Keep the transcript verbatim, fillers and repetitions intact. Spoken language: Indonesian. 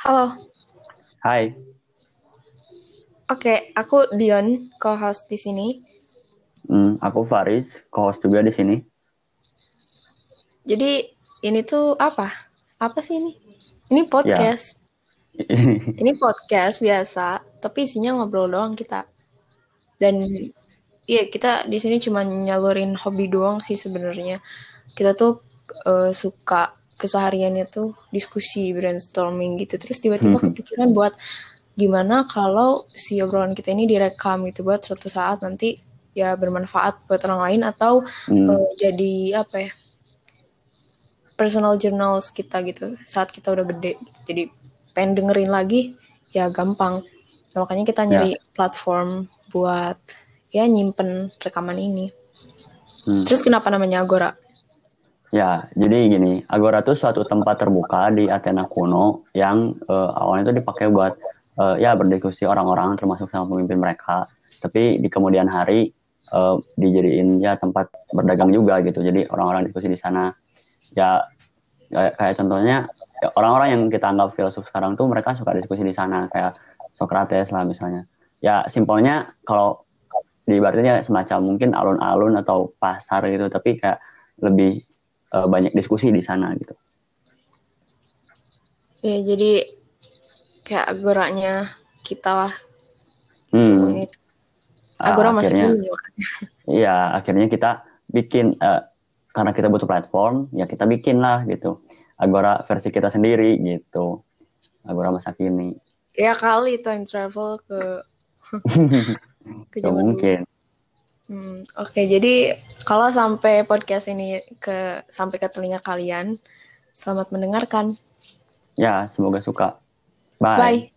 Halo, Hai, oke, aku Dion, co-host di sini. hmm, aku Faris, co-host juga di sini. Jadi ini tuh apa? Apa sih ini? Ini Ya, podcast. Ini podcast biasa, tapi isinya ngobrol doang kita. Dan iya kita di sini cuma nyalurin hobi doang sih sebenarnya. Kita tuh eh, suka kesehariannya tuh diskusi brainstorming gitu. Terus tiba-tiba kepikiran buat gimana kalau si obrolan kita ini direkam gitu buat suatu saat nanti ya bermanfaat buat orang lain atau hmm, eh, jadi apa ya? Personal journals kita gitu saat kita udah gede gitu. Jadi pengen dengerin lagi ya gampang. Nah, makanya kita ya, nyari platform buat ya nyimpen rekaman ini. hmm, Terus kenapa namanya Agora? ya. Jadi gini, Agora itu suatu tempat terbuka di Athena kuno yang eh, awalnya itu dipakai buat eh, ya berdiskusi orang-orang termasuk sama pemimpin mereka. Tapi di kemudian hari eh, dijadiin ya tempat berdagang juga gitu. Jadi orang-orang diskusi di sana. Ya kayak, kayak contohnya ya, orang-orang yang kita anggap filsuf sekarang tuh mereka suka diskusi di sana kayak Socrates lah misalnya. Ya simpelnya kalau di ibaratnya semacam mungkin alun-alun atau pasar gitu tapi kayak lebih uh, banyak diskusi di sana gitu. Ya jadi kayak agoranya kita lah gitu. Hmm, Ini uh, agora maksudnya akhirnya gimana? ya akhirnya kita bikin uh, karena kita butuh platform ya kita bikin lah gitu Agora versi kita sendiri gitu, Agora masa kini. Ya kali time travel ke ke Gak zaman dulu. mungkin. Hmm, Oke, jadi kalau sampai podcast ini ke sampai ke telinga kalian, selamat mendengarkan. Ya semoga suka. Bye. Bye.